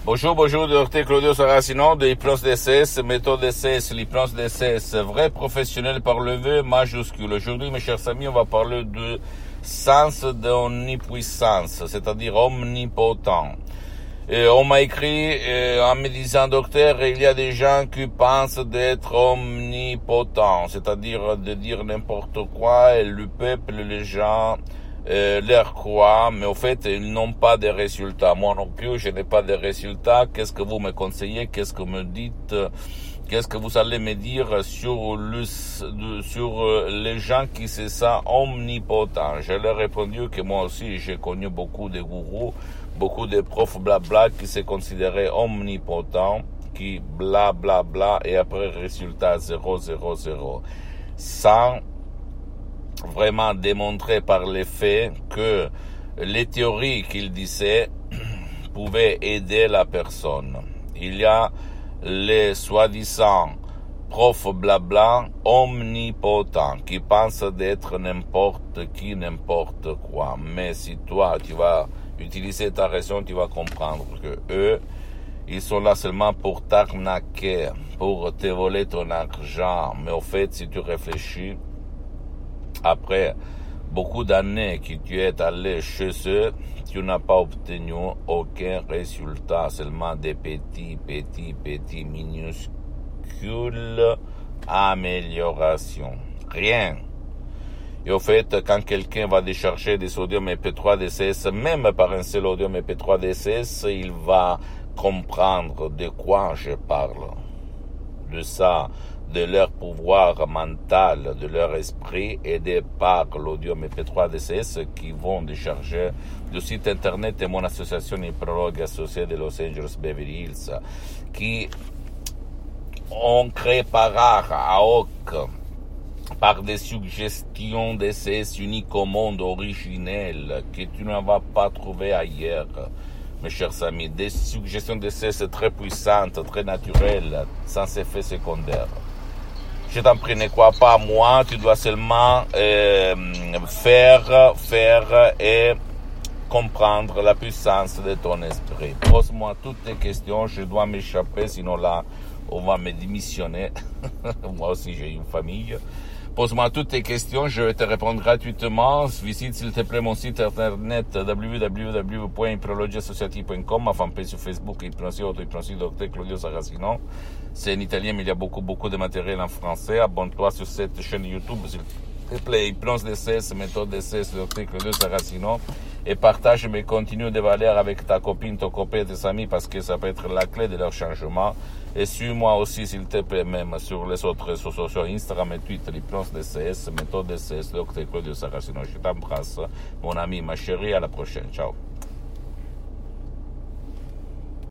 Bonjour, docteur Claudio Saracino de l'hypnose DCS, méthode DCS, l'hypnose DCS, vrai professionnel par le V majuscule. Aujourd'hui, mes chers amis, on va parler du sens de omnipuissance, c'est-à-dire omnipotent. Et on m'a écrit en me disant, docteur, il y a des gens qui pensent d'être omnipotents, c'est-à-dire de dire n'importe quoi, et le peuple, les gens leur croient, mais au fait, ils n'ont pas de résultats. Moi non plus, je n'ai pas de résultats. Qu'est-ce que vous me conseillez? Qu'est-ce que vous me dites? Qu'est-ce que vous allez me dire sur les gens qui se sentent omnipotents? Je leur ai répondu que moi aussi, j'ai connu beaucoup de gourous, beaucoup de profs blabla qui se considéraient omnipotents, qui blablabla, et après résultat 0, 0, 0. Sans vraiment démontrer par les faits que les théories qu'il disait pouvaient aider la personne. Il y a les soi-disant profs blabla omnipotents qui pensent d'être n'importe qui, n'importe quoi. Mais si toi, tu vas utiliser ta raison, tu vas comprendre que eux, ils sont là seulement pour t'arnaquer, pour te voler ton argent. Mais au fait, si tu réfléchis, après beaucoup d'années que tu es allé chez eux, tu n'as pas obtenu aucun résultat, seulement des petits, minuscules améliorations. Rien. Et au fait, quand quelqu'un va décharger des audios MP3 DCS, même par un seul audio MP3 DCS, il va comprendre de quoi je parle. De ça, de leur pouvoir mental, de leur esprit, aidé par l'audio MP3 DCS qui vont décharger du site internet de mon association hypnologue associée de Los Angeles Beverly Hills, qui ont créé par art à hoc, par des suggestions DCS uniques au monde, originelles, que tu ne vas pas trouver ailleurs. Mes chers amis, des suggestions DCS très puissantes, très naturelles, sans effet secondaire. Je t'en prie, ne crois pas à moi, tu dois seulement faire et comprendre la puissance de ton esprit. Pose-moi toutes tes questions, je dois m'échapper, sinon là, on va me démissionner. Moi aussi, j'ai une famille. Pose-moi toutes tes questions, je vais te répondre gratuitement. Visite s'il te plaît mon site internet www.hypnologieassociative.com, ma fanpage sur Facebook, Hypnosie Docteur Claudio Saracino. C'est en italien, mais il y a beaucoup de matériel en français. Abonne-toi sur cette chaîne YouTube, s'il te plaît, Hypnose DCS, méthode DCS, Docteur Claudio Saracino. Et partage mes contenus de valeur avec ta copine, ton copain, tes amis, parce que ça peut être la clé de leur changement. Et suis-moi aussi, s'il te plaît, même sur les autres réseaux sociaux, Instagram et Twitter, l'hypnose DCS, méthode DCS, Docteur Claudio Saracino. Je t'embrasse, mon ami, ma chérie, à la prochaine. Ciao.